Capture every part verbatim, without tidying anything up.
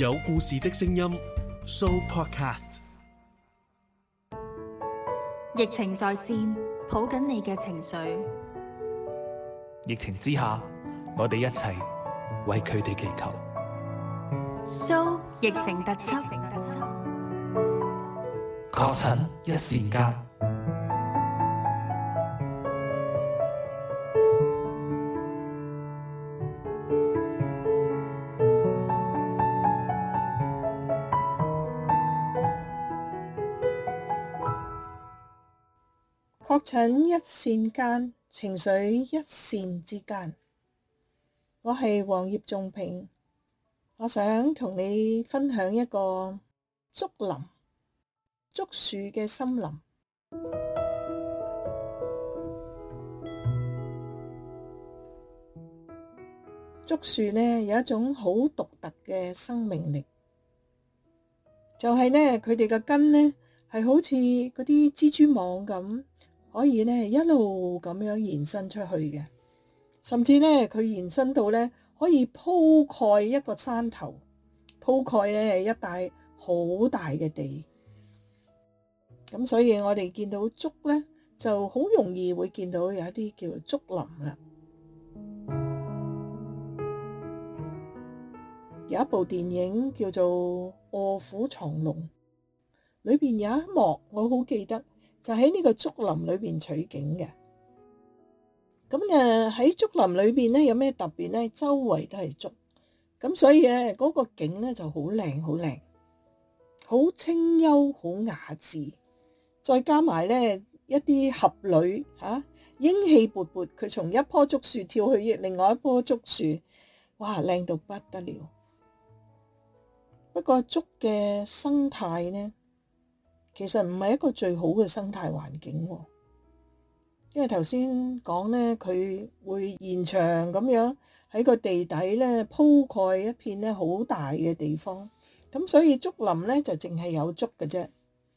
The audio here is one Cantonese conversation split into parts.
有故事的聲音 Show Podcast。 疫情在線，抱緊你嘅情緒。 疫情之下，我哋一齊為佢哋祈求。 Show 疫情特輯， 確診一線間。 確診一線間，情緒一線之間。我係黃葉仲平，我想同你分享一個竹林，竹樹嘅森林。竹樹呢有一種好獨特嘅生命力，就係呢佢哋嘅根呢係好似嗰啲蜘蛛網咁。可以咧一路咁樣延伸出去嘅，甚至咧佢延伸到咧可以鋪蓋一個山頭，鋪蓋咧一帶好大嘅地。咁所以我哋見到竹咧，就好容易會見到有一啲叫做竹林啦。有一部電影叫做《臥虎藏龍》，裏邊有一幕我好記得。就喺呢個竹林裏邊取景嘅，咁誒喺竹林裏邊咧有咩特別咧？周圍都係竹，咁所以咧嗰個景咧就好靚，好靚，好清幽，好雅致，再加埋咧一啲俠女吓，英氣勃勃，佢從一棵竹樹跳去另外一棵竹樹，哇，靚到不得了。不過竹嘅生態呢，其實唔係一個最好嘅生態環境，因為頭先講咧，佢會延長咁樣喺個地底咧鋪蓋一片咧好大嘅地方，咁所以竹林咧就淨係有竹嘅啫。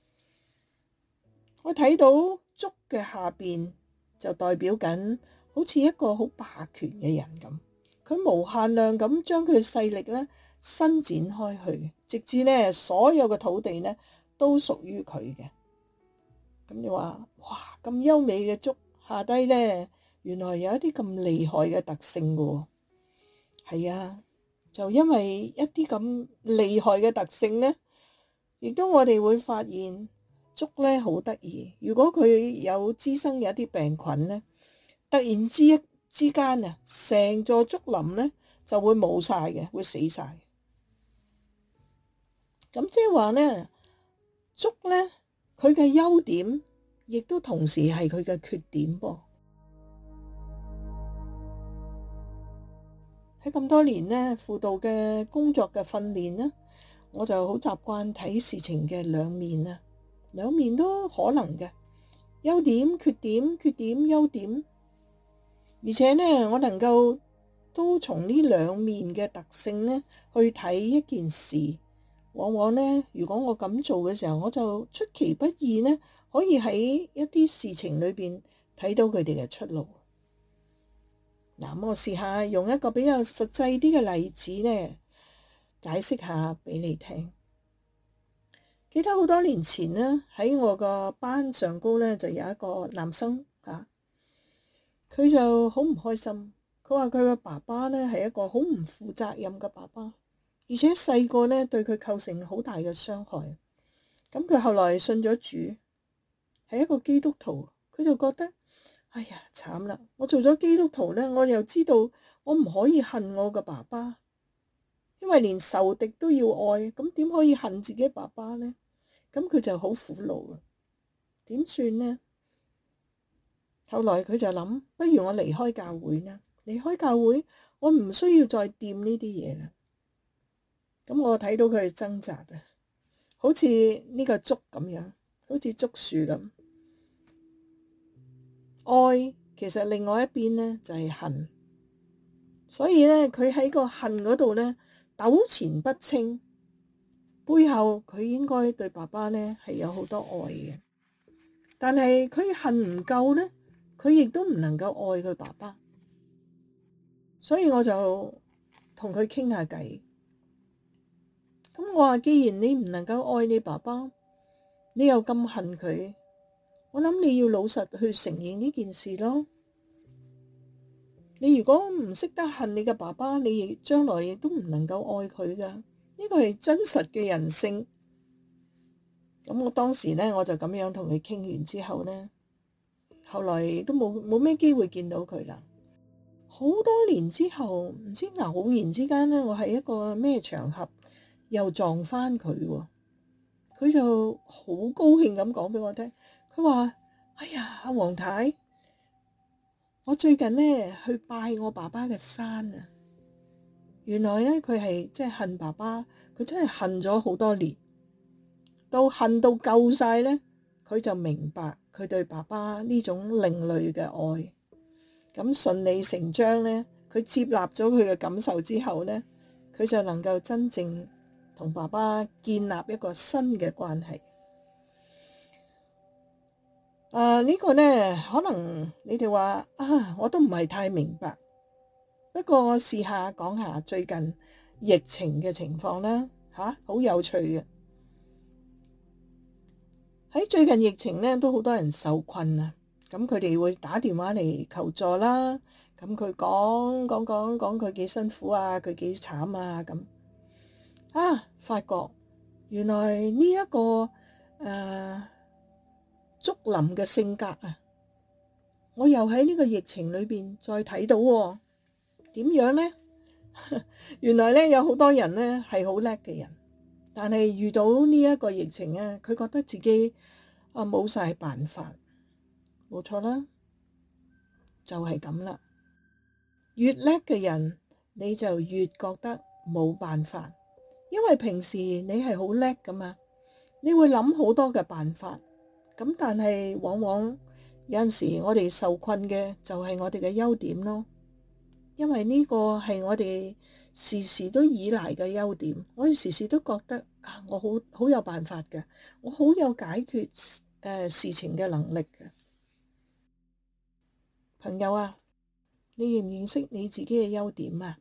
我睇到竹嘅下邊就代表緊好似一個好霸權嘅人咁，佢無限量咁將佢嘅勢力咧伸展開去，直至咧所有嘅土地咧都屬於佢嘅。咁你話哇，咁優美嘅竹下低呢，原來有一啲咁厲害嘅特性嘅。係啊，就因為一啲咁厲害嘅特性呢，亦都我哋會發現竹呢好得意。如果佢有滋生有一啲病菌呢，突然之一之間啊，成座竹林呢就會冇晒嘅，會死晒。咁即係話呢，竹呢，佢嘅優點，亦都同時係佢嘅缺點噃。喺咁多年呢，輔導嘅工作嘅訓練呢，我就好習慣睇事情嘅兩面啊，兩面都可能嘅，優點、缺點、缺點、優點，而且呢，我能夠都從呢兩面嘅特性呢去睇一件事。往往呢，如果我咁做嘅時候，我就出其不意呢，可以喺一啲事情裏邊睇到佢哋嘅出路。嗱，我試下用一個比較實際啲嘅例子呢，解釋下俾你聽。記得好多年前呢，喺我個班上高呢，就有一個男生啊，佢就好唔開心。佢話佢個爸爸呢係一個好唔負責任嘅爸爸。而且細個咧對佢構成好大嘅傷害，咁佢後來信咗主，係一個基督徒，佢就覺得，哎呀慘啦！我做咗基督徒咧，我又知道我唔可以恨我嘅爸爸，因為連仇敵都要愛，咁點可以恨自己爸爸呢？咁佢就好苦惱啊！點算呢？後來佢就諗，不如我離開教會啦，離開教會，我唔需要再掂呢啲嘢啦。咁我睇到佢係掙扎啊，好似呢個竹咁樣，好似竹樹咁。愛其實另外一邊呢就係恨，所以呢佢喺個恨嗰度呢糾纏不清，背後佢應該對爸爸呢係有好多愛嘅，但係佢恨唔夠呢，佢亦都唔能夠愛佢爸爸，所以我就同佢傾下偈。 咁我話既然你唔能夠愛你爸爸，你又咁恨佢，我諗你要老實去承認呢件事咯。你如果唔識得恨你嘅爸爸，你亦將來亦都唔能夠愛佢噶。呢個係真實嘅人性。咁我當時呢，我就咁樣同佢傾完之後呢，後來都冇冇咩機會見到佢啦。好多年之後，唔知偶然之間呢，我喺一個咩場合又撞返佢喎。佢就好高興咁講俾我聽，佢話：哎呀，阿黃太，我最近呢去拜我爸爸嘅山啊。原來呢，佢係即係恨爸爸，佢真係恨咗好多年，到恨到夠晒呢，佢就明白佢對爸爸呢種另類嘅愛。咁順理成章呢，佢接納咗佢嘅感受之後呢，佢就能夠真正同爸爸建立一個新嘅關係。啊，呢個呢，可能你哋話啊，我都唔係太明白。不過我試下講下最近疫情嘅情況啦，吓，好有趣嘅。喺最近疫情呢，都好多人受困啊。咁佢哋會打電話嚟求助啦。咁佢講講講講佢幾辛苦啊，佢幾慘啊咁。啊，發覺原來呢、這、一個誒、呃、竹林嘅性格啊，我又喺呢個疫情裏邊再睇到喎。點樣呢？原來咧有好多人咧係好叻嘅人，但係遇到呢一個疫情啊，佢覺得自己啊冇晒辦法。冇錯啦，就係咁啦。越叻嘅人，你就越覺得冇辦法，因為平時你係好叻噶嘛，你會諗好多嘅辦法。咁但係往往有陣時我哋受困嘅就係我哋嘅優點咯，因為呢個係我哋時時都依賴嘅優點。我哋時時都覺得啊，我好好有辦法嘅，我好有解決誒、呃、事情嘅能力嘅。朋友啊，你認唔認識你自己嘅優點啊？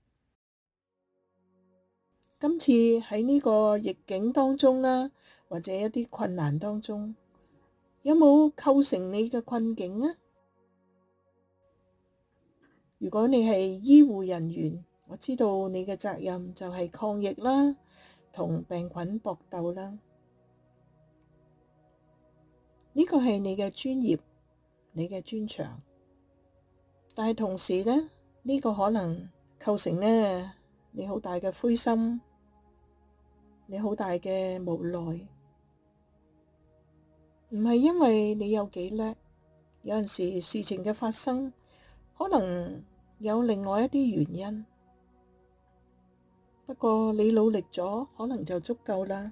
今次喺呢個逆境當中啦，或者一啲困難當中，有冇構成你嘅困境啊？如果你係醫護人員，我知道你嘅責任就係抗疫啦，同病菌搏鬥啦。呢個係你嘅專業，你嘅專長。但係同時呢，呢個可能構成呢你好大嘅灰心，你好大嘅無奈。唔係因為你有幾叻，有陣時事情嘅發生可能有另外一啲原因。不過你努力咗，可能就足夠啦。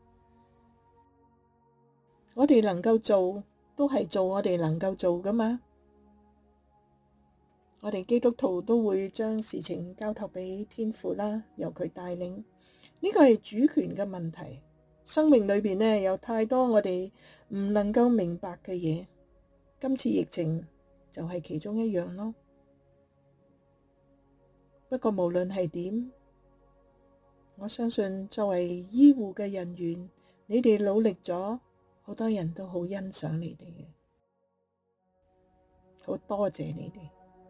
我哋能夠做，都係做我哋能夠做㗎嘛。我哋基督徒都會將事情交託俾天父啦，由佢帶領。呢個係主權嘅問題。生命裏邊呢，有太多我哋唔能夠明白嘅嘢。今次疫情就係其中一樣咯。不過無論係點，我相信作為醫護嘅人員，你哋努力咗，好多人都好欣賞你哋嘅，好多謝你哋。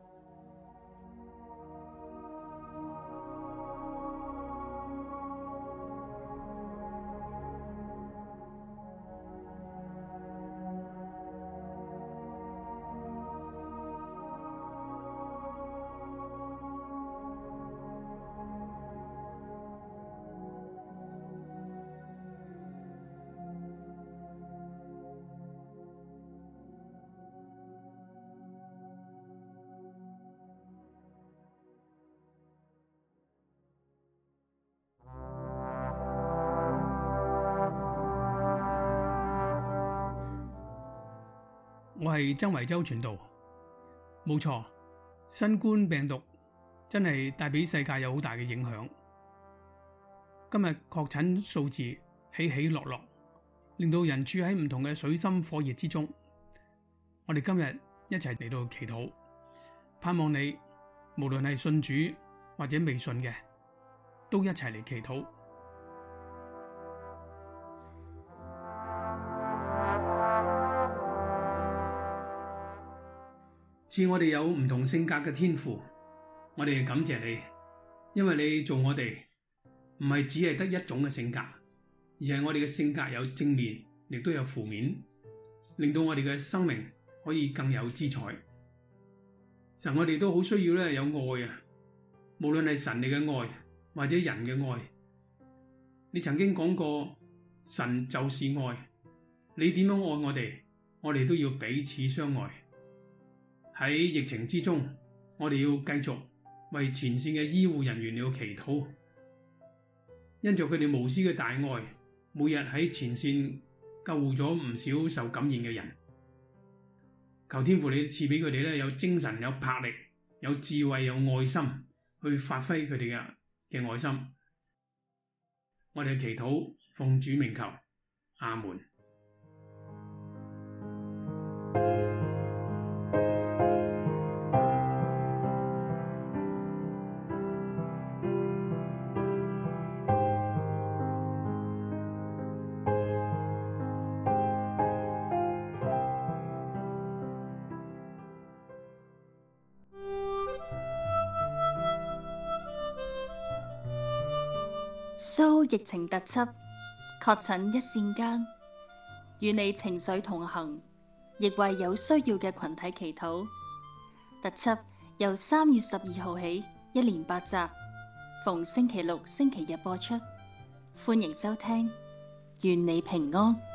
我係曾維洲傳道，冇錯，新冠病毒真係帶俾世界有好大嘅影響。今日確診數字起起落落，令到人處喺唔同嘅水深火熱之中。我哋今日一齊嚟到祈禱，盼望你無論係信主或者未信嘅，都一齊嚟祈禱。 賜我哋有唔同性格嘅天父，我哋感謝你，因為你做我哋唔係只係得一種嘅性格，而係我哋嘅性格有正面，亦都有負面，令到我哋嘅生命可以更有姿彩。神，我哋都好需要咧有愛啊，無論係神你嘅愛或者人嘅愛。你曾經講過，神就是愛，你點樣愛我哋，我哋都要彼此相愛。喺疫情之中，我哋要繼續為前線嘅醫護人員要祈禱，因着佢哋無私嘅大愛，每日喺前線救護咗唔少受感染嘅人。求天父你賜俾佢哋咧有精神、有魄力、有智慧、有愛心，去發揮佢哋嘅嘅愛心。我哋祈禱，奉主名求，阿門。 蘇疫情特輯，確診一線間，與你情緒同行，亦為有需要嘅群體祈禱。特輯由三月十二號起，一連八集，逢星期六、星期日播出，歡迎收聽，願你平安。